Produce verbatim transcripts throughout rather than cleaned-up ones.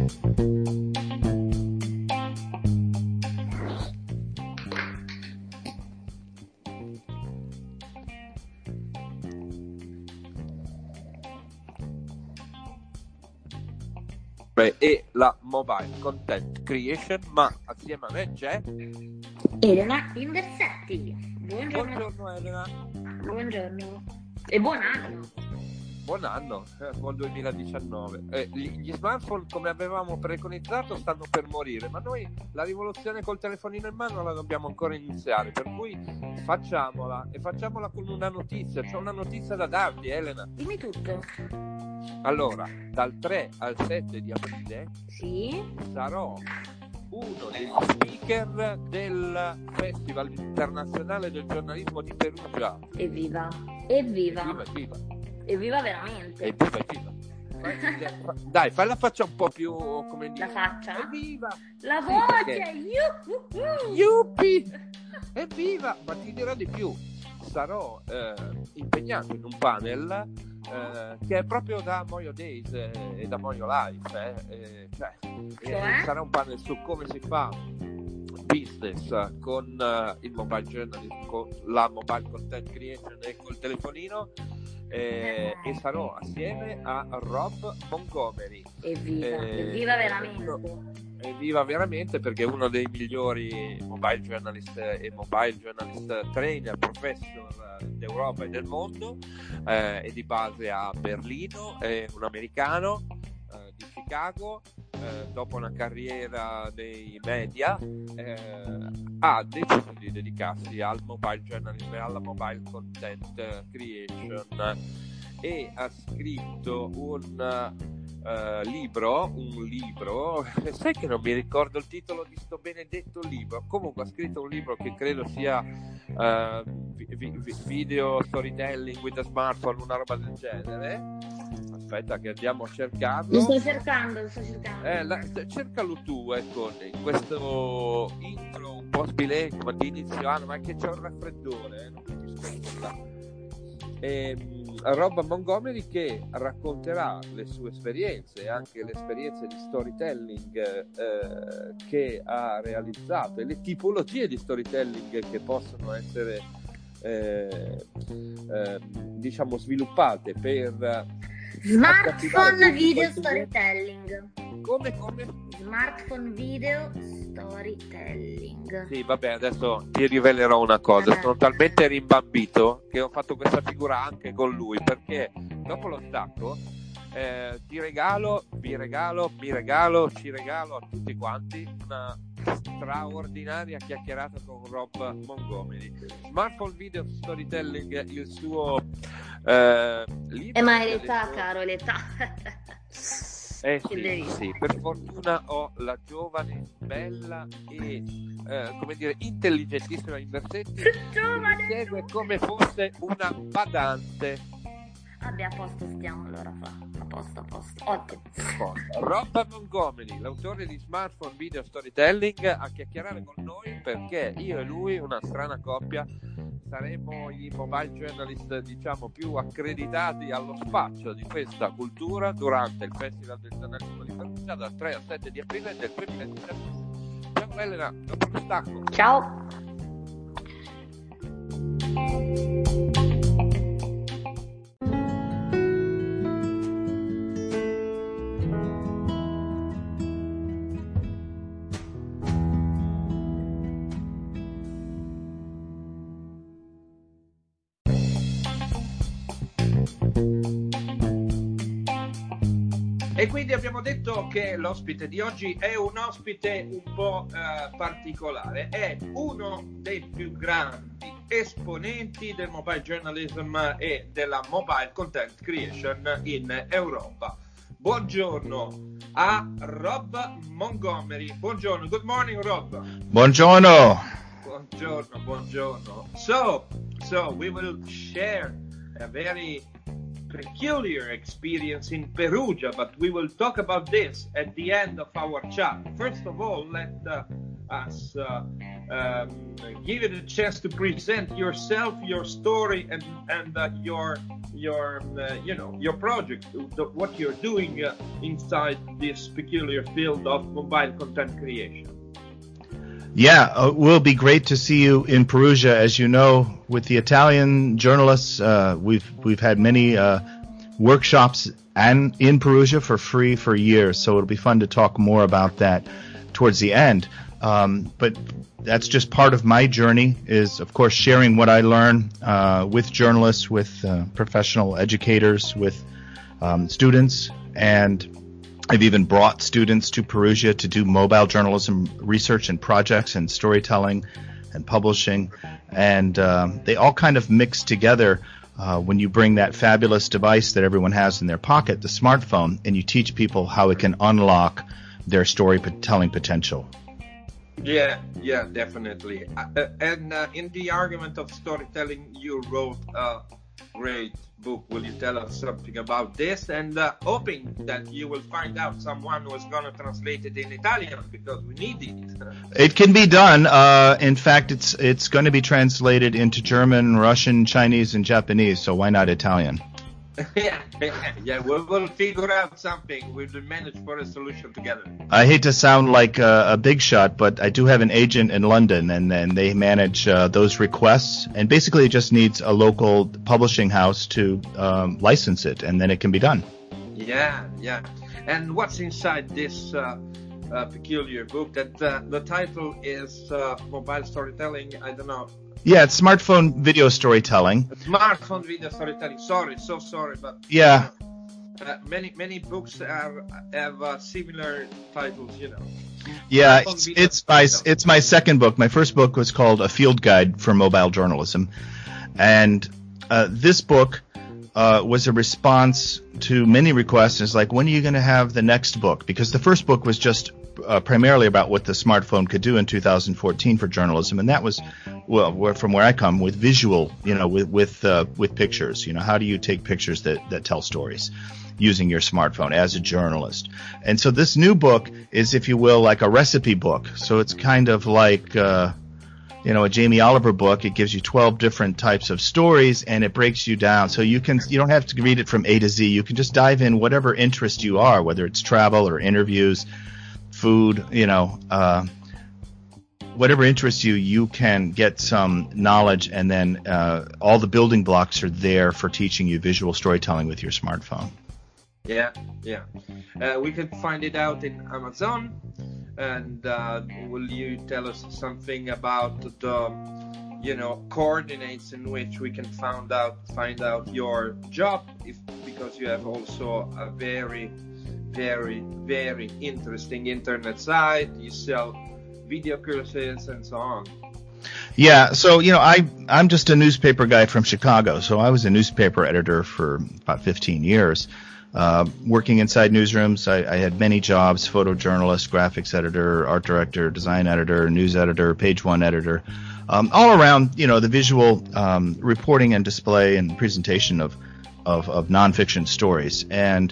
E la mobile content creation, ma assieme a me c'è Elena Inversetti. Buongiorno. Buongiorno Elena. Buongiorno e buon anno. Buon anno, eh, buon duemiladiciannove. Eh, gli, gli smartphone, come avevamo preconizzato, stanno per morire, ma noi la rivoluzione col telefonino in mano la dobbiamo ancora iniziare, per cui facciamola e facciamola con una notizia. C'ho una notizia da darti, Elena. Dimmi tutto. Allora, dal tre al sette di aprile Sì. sarò uno degli speaker del Festival Internazionale del Giornalismo di Perugia. Evviva. Evviva. Evviva, evviva. Evviva veramente. Evviva, evviva. Dai, fai la faccia un po' più, come dire. La faccia? Evviva. La Sì, voce. perché... Yuppie. Evviva. Ma ti dirò di più. Sarò eh, impegnato in un panel eh, che è proprio da Moio Days eh, e da Moio Life. Eh, eh, cioè, Cioè? eh, sarà un panel su come si fa business con uh, il mobile journalism, con la mobile content creation e col telefonino. Eh, e sarò assieme a Rob Montgomery. Evviva. Eh, Evviva veramente. Evviva veramente, perché è uno dei migliori mobile journalist e mobile journalist trainer professor d'Europa e del mondo, eh, è di base a Berlino, è un americano eh, di Chicago. Eh, dopo una carriera nei media eh, ha deciso di dedicarsi al mobile journalism e alla mobile content creation e ha scritto un uh, libro un libro sai che non mi ricordo il titolo di sto benedetto libro. Comunque ha scritto un libro che credo sia uh, vi- vi- video storytelling with a smartphone, una roba del genere. Aspetta che andiamo a cercarlo. Lo sto cercando, lo sto cercando. Eh, la, cercalo tu, ecco, in questo intro un po' sbilenco di inizio anno, ma che c'è un raffreddore, eh, non capisco nulla. E, Rob Montgomery che racconterà le sue esperienze e anche le esperienze di storytelling eh, che ha realizzato e le tipologie di storytelling che possono essere eh, eh, diciamo sviluppate per Smartphone video storytelling. Come, come? Smartphone video storytelling. Sì, vabbè, adesso ti rivelerò una cosa. Eh. Sono talmente rimbambito che ho fatto questa figura anche con lui, perché dopo lo stacco eh, ti regalo, vi regalo, mi regalo, ci regalo a tutti quanti una straordinaria chiacchierata con Rob Montgomery. Smartphone video storytelling, il suo eh, libro. Eh, ma è l'età, adesso... caro, è l'età. Eh sì, sì, per fortuna ho la giovane, bella e eh, come dire intelligentissima Inversetti che mi segue come fosse una badante. Vabbè, a posto stiamo allora, fa. A posto, a posto. Ottimo. Rob Montgomery, l'autore di Smartphone Video Storytelling, a chiacchierare con noi, perché io e lui, una strana coppia, saremo i mobile journalist, diciamo, più accreditati allo spazio di questa cultura durante il Festival del Giornalismo di Perugia dal tre al sette di aprile del duemiladiciannove. Ciao Elena, dopo lo stacco. Ciao. E quindi abbiamo detto che l'ospite di oggi è un ospite un po' eh, particolare, è uno dei più grandi esponenti del mobile journalism e della mobile content creation in Europa. Buongiorno a Rob Montgomery. Buongiorno, good morning Rob. Buongiorno. Buongiorno, buongiorno. So, so we will share a very peculiar experience in Perugia, but we will talk about this at the end of our chat. First of all, let uh, us uh, um, give you the chance to present yourself, your story, and and uh, your your uh, you know your project, the, what you're doing uh, inside this peculiar field of mobile content creation. Yeah, uh, it will be great to see you in Perugia. As you know, with the Italian journalists, uh, we've we've had many uh, workshops and in Perugia for free for years. So it'll be fun to talk more about that towards the end. Um, but that's just part of my journey, is of course sharing what I learn uh, with journalists, with uh, professional educators, with um, students, and I've even brought students to Perugia to do mobile journalism research and projects and storytelling and publishing, and um, they all kind of mix together uh, when you bring that fabulous device that everyone has in their pocket, the smartphone, and you teach people how it can unlock their storytelling potential. Yeah, yeah, definitely. Uh, and uh, in the argument of storytelling, you wrote a great book. Will you tell us something about this? And uh, hoping that you will find out someone who is going to translate it in Italian, because we need it. It can be done. Uh, in fact, it's it's going to be translated into German, Russian, Chinese, and Japanese. So why not Italian? yeah, yeah, we'll, we'll figure out something. We'll manage for a solution together. I hate to sound like a, a big shot, but I do have an agent in London, and, and they manage uh, those requests. And basically, it just needs a local publishing house to um, license it, and then it can be done. Yeah, yeah. And what's inside this uh, uh, peculiar book? That uh, the title is uh, Mobile Storytelling. I don't know. Yeah, it's smartphone video storytelling. Smartphone video storytelling. Sorry, so sorry, but yeah, uh, many many books are, have uh, similar titles, you know. Yeah, it's, it's my it's my second book. My first book was called A Field Guide for Mobile Journalism, and uh, this book uh, was a response to many requests. It's like, when are you going to have the next book? Because the first book was just uh, primarily about what the smartphone could do in two thousand fourteen for journalism, and that was, well, where, from where I come, with visual, you know, with with uh, with pictures. You know, how do you take pictures that that tell stories using your smartphone as a journalist? And so this new book is, if you will, like a recipe book. So it's kind of like, uh, you know, a Jamie Oliver book. It gives you twelve different types of stories, and it breaks you down. So you can, you don't have to read it from A to Z. You can just dive in whatever interest you are, whether it's travel or interviews, food, you know, uh, whatever interests you, you can get some knowledge, and then uh, all the building blocks are there for teaching you visual storytelling with your smartphone. Yeah, yeah. Uh, we can find it out in Amazon. And uh, will you tell us something about the, you know, coordinates in which we can find out find out your job? If because you have also a very, very, very interesting internet site. You sell video courses and so on. Yeah, so, you know, I, I'm just a newspaper guy from Chicago, so I was a newspaper editor for about fifteen years. Uh, working inside newsrooms, I, I had many jobs: photojournalist, graphics editor, art director, design editor, news editor, page one editor, um, all around, you know, the visual um, reporting and display and presentation of, of, of nonfiction stories. And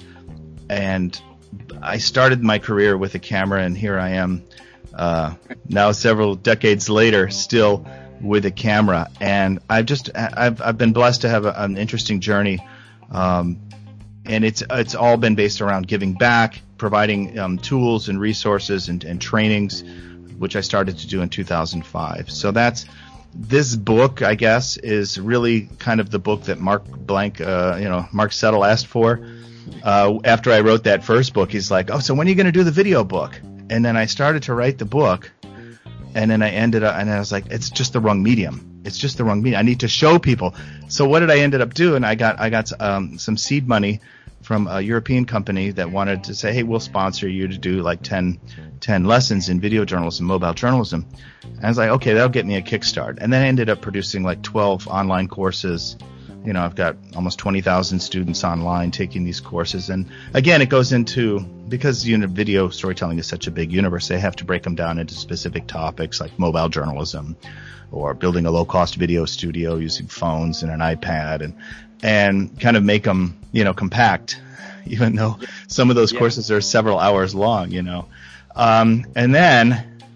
and I started my career with a camera, and here I am uh, now, several decades later, still with a camera. And I've just I've I've been blessed to have a, an interesting journey. Um, And it's it's all been based around giving back, providing um, tools and resources and, and trainings, which I started to do in two thousand five. So that's this book, I guess, is really kind of the book that Mark Blank, uh, you know, Mark Settle asked for. Uh, after I wrote that first book, he's like, "Oh, so when are you going to do the video book?" And then I started to write the book, and then I ended up, and I was like, "It's just the wrong medium. It's just the wrong medium. I need to show people." So what did I ended up doing? I got I got um, some seed money from a European company that wanted to say, "Hey, we'll sponsor you to do like ten, ten lessons in video journalism, mobile journalism." And I was like, okay, that'll get me a kickstart. And then I ended up producing like twelve online courses. You know, I've got almost twenty thousand students online taking these courses. And again, it goes into, because you know, video storytelling is such a big universe, they have to break them down into specific topics like mobile journalism, or building a low-cost video studio using phones and an iPad, and and kind of make them, you know, compact, even though some of those yeah. courses are several hours long, you know. Um, and then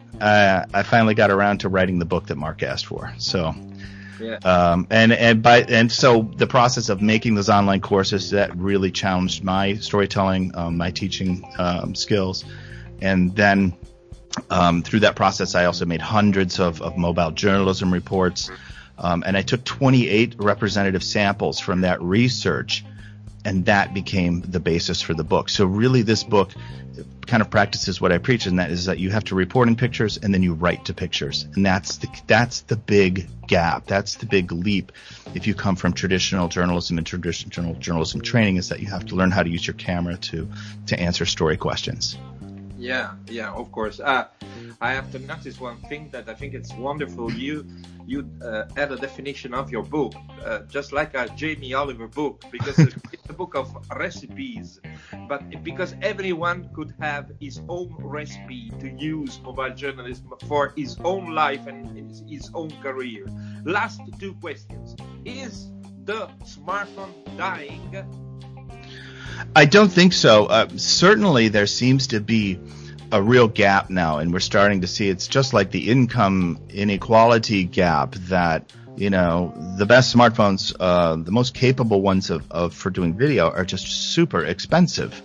uh, I finally got around to writing the book that Mark asked for. So, yeah. um, and and by and so the process of making those online courses, that really challenged my storytelling, um, my teaching um, skills, and then um, through that process, I also made hundreds of, of mobile journalism reports, um, and I took twenty-eight representative samples from that research. And that became the basis for the book. So really this book kind of practices what I preach, and that is that you have to report in pictures and then you write to pictures. And that's the that's the big gap. That's the big leap if you come from traditional journalism and traditional journalism training, is that you have to learn how to use your camera to to answer story questions. Yeah, yeah, of course. Uh, I have to notice one thing that I think it's wonderful. You you uh, add a definition of your book, uh, just like a Jamie Oliver book, because it's a book of recipes, but because everyone could have his own recipe to use mobile journalism for his own life and his, his own career. Last two questions. Is the smartphone dying? I don't think so. Uh, certainly there seems to be a real gap now, and we're starting to see it's just like the income inequality gap that, you know, the best smartphones, uh, the most capable ones of, of for doing video are just super expensive.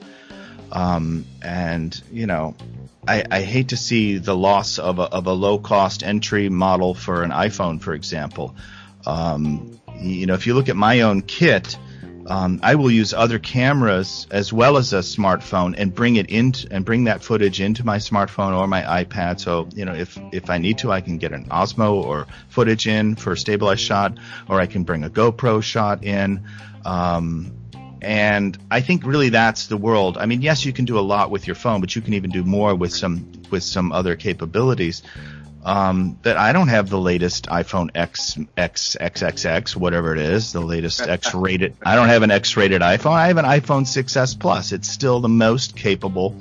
Um, and, you know, I, I hate to see the loss of a, of a low cost entry model for an iPhone, for example. Um, you know, if you look at my own kit, Um, I will use other cameras as well as a smartphone and bring it in and bring that footage into my smartphone or my iPad. So, you know, if, if I need to, I can get an Osmo or footage in for a stabilized shot, or I can bring a GoPro shot in. Um, and I think really that's the world. I mean, yes, you can do a lot with your phone, but you can even do more with some, with some other capabilities. Um, but I don't have the latest iPhone X, X, X X X, whatever it is, the latest X-rated. I don't have an X-rated iPhone. I have an iPhone six S Plus. It's still the most capable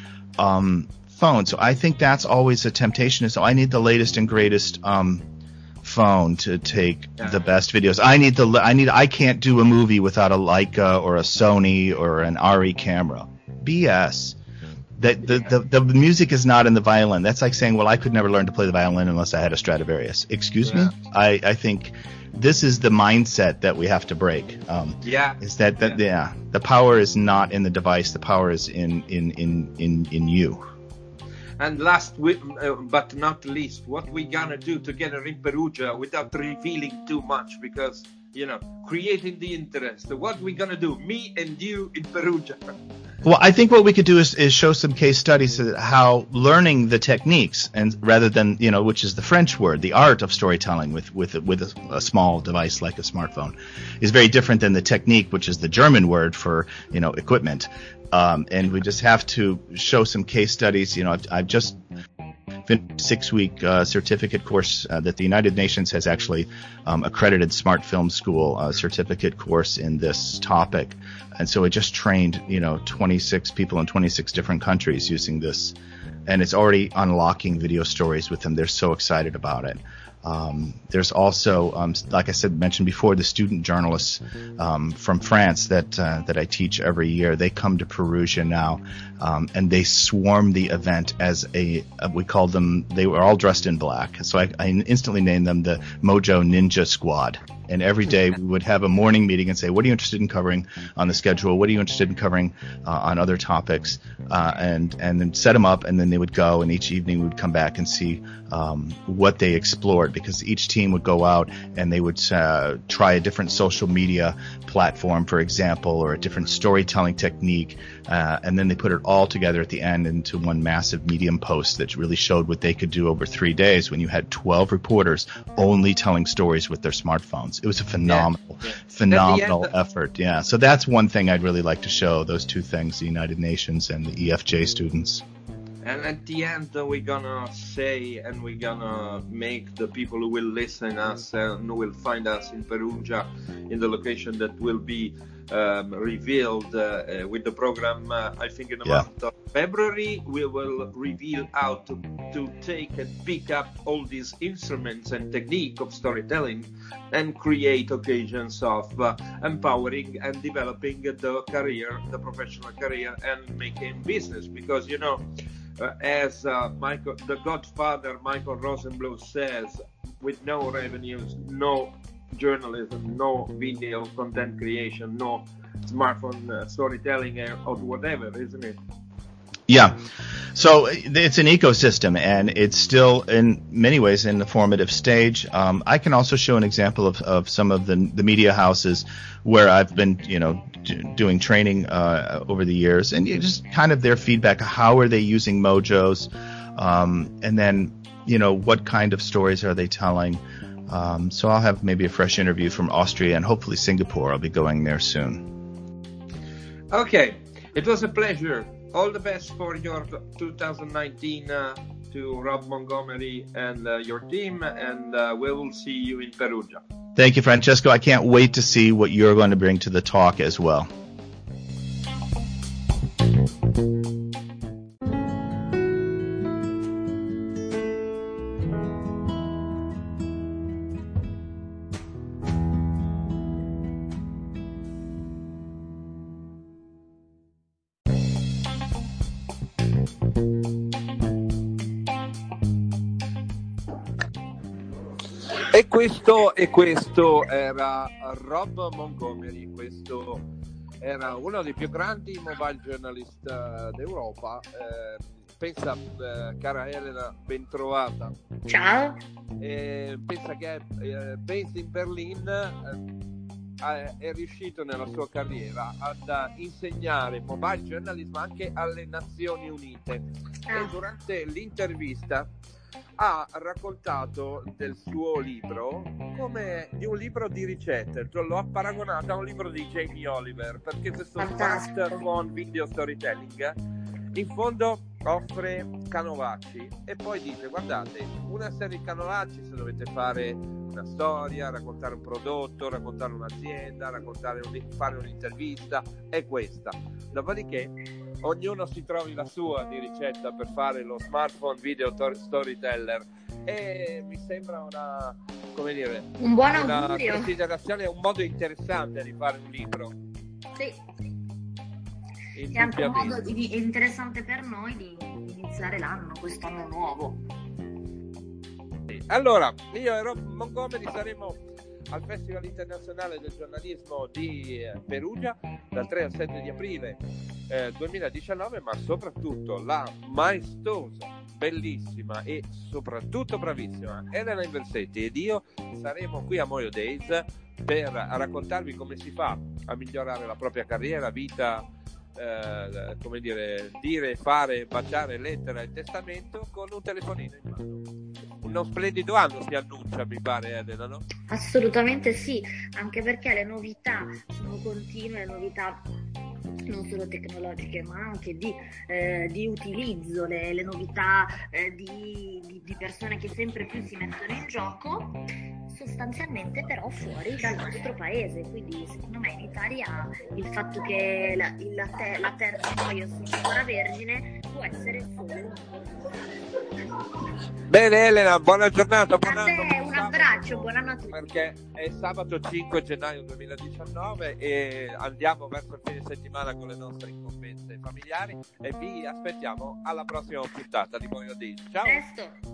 um, phone. So I think that's always a temptation. So I need the latest and greatest um, phone to take the best videos. I need the. I need. I can't do a movie without a Leica or a Sony or an R E camera. B S. The, the, the, the music is not in the violin. That's like saying, well, I could never learn to play the violin unless I had a Stradivarius. Excuse yeah. me? I, I think this is the mindset that we have to break. Um, yeah. Is that, that yeah. yeah, the power is not in the device. The power is in, in, in, in, in you. And last uh, but not least, what we gonna do together in Perugia without revealing too much, because, you know, creating the interest. What we gonna do, me and you in Perugia? Well, I think what we could do is, is show some case studies of how learning the techniques, and rather than, you know, which is the French word, the art of storytelling with with with a, a small device like a smartphone, is very different than the technique, which is the German word for, you know, equipment. Um, and we just have to show some case studies. You know, I've, I've just finished a six-week uh, certificate course uh, that the United Nations has actually um, accredited Smart Film School uh, certificate course in this topic. And so it just trained, you know, twenty-six people in twenty-six different countries using this. And it's already unlocking video stories with them. They're so excited about it. Um, there's also, um, like I said, mentioned before, the student journalists um, from France that uh, that I teach every year. They come to Perugia now, um, and they swarm the event as a. Uh, we called them. They were all dressed in black, so I, I instantly named them the Mojo Ninja Squad. And every day we would have a morning meeting and say, what are you interested in covering on the schedule? What are you interested in covering uh, on other topics? Uh, and and then set them up, and then they would go, and each evening we would come back and see um, what they explored, because each team would go out and they would uh, try a different social media platform, for example, or a different storytelling technique, uh, and then they put it all together at the end into one massive Medium post that really showed what they could do over three days when you had twelve reporters only telling stories with their smartphones. It was a phenomenal, yeah. phenomenal end, effort. Yeah. So that's one thing I'd really like to show, those two things, the United Nations and the E F J students. And at the end, uh, we're gonna say, and we're gonna make the people who will listen us and who will find us in Perugia, in the location that will be um, revealed uh, uh, with the program. Uh, I think in the yeah. month of February, we will reveal how to, to take and pick up all these instruments and technique of storytelling and create occasions of uh, empowering and developing the career, the professional career, and making business. Because, you know, uh, as uh, Michael, the Godfather Michael Rosenbluth says, with no revenues, no journalism, no video content creation, no smartphone uh, storytelling or whatever, isn't it? Yeah. So it's an ecosystem, and it's still in many ways in the formative stage. Um, I can also show an example of, of some of the, the media houses where I've been, you know, d- doing training uh, over the years, and you just kind of their feedback. How are they using Mojos? Um, and then, you know, what kind of stories are they telling? Um, so I'll have maybe a fresh interview from Austria and hopefully Singapore. I'll be going there soon. Okay. It was a pleasure. All the best for your two thousand nineteen uh, to Rob Montgomery and uh, your team, and uh, we will see you in Perugia. Thank you, Francesco. I can't wait to see what you're going to bring to the talk as well. E questo, e questo era Rob Montgomery, questo era uno dei più grandi mobile journalist d'Europa. Eh, pensa, eh, cara Elena, ben trovata. Ciao. Eh, pensa che è eh, based in Berlin, eh, è riuscito nella sua carriera ad insegnare mobile journalism anche alle Nazioni Unite. Ah. E durante l'intervista ha raccontato del suo libro come di un libro di ricette, cioè lo ha paragonato a un libro di Jamie Oliver, perché questo smartphone video storytelling in fondo offre canovacci e poi dice: guardate, una serie di canovacci se dovete fare una storia, raccontare un prodotto, raccontare un'azienda, raccontare un, fare un'intervista, è questa. Dopodiché ognuno si trovi la sua di ricetta per fare lo smartphone video tor- storyteller, e mi sembra una, come dire, un buon una augurio, considerazione, un modo interessante di fare un libro. Sì. È anche un modo di, interessante per noi di iniziare l'anno, quest'anno nuovo. Allora, io e Rob Montgomery saremo al Festival Internazionale del Giornalismo di Perugia dal tre al sette di aprile eh, duemiladiciannove, ma soprattutto la maestosa, bellissima e soprattutto bravissima Elena Inversetti ed io saremo qui a Moio Days per raccontarvi come si fa a migliorare la propria carriera, vita, eh, come dire, dire, fare, baciare lettera e testamento con un telefonino in mano. Uno splendido anno si annuncia, mi pare, Elena, no? Assolutamente sì, anche perché le novità sono continue, le novità non solo tecnologiche ma anche di, eh, di utilizzo, le, le novità eh, di, di, di persone che sempre più si mettono in gioco, sostanzialmente però fuori dal nostro paese. Quindi secondo me in Italia il fatto che la, la, te, la terra di Moio sia ancora vergine può essere solo un Bene Elena, buona giornata, buon a te, anno, un abbraccio, buon anno a tutti. Perché è sabato cinque gennaio duemiladiciannove e andiamo verso il fine settimana con le nostre incombenze familiari e vi aspettiamo alla prossima puntata di Moio Days. Ciao! Presto!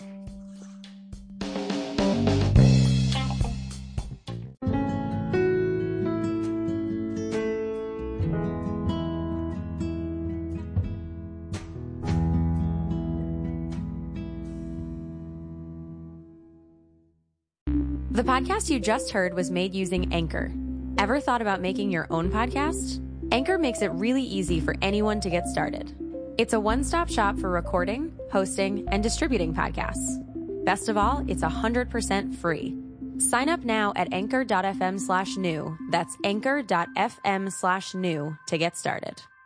The podcast you just heard was made using Anchor. Ever thought about making your own podcast? Anchor makes it really easy for anyone to get started. It's a one-stop shop for recording, hosting, and distributing podcasts. Best of all, it's one hundred percent free. Sign up now at anchor.fm slash new. That's anchor.fm slash new to get started.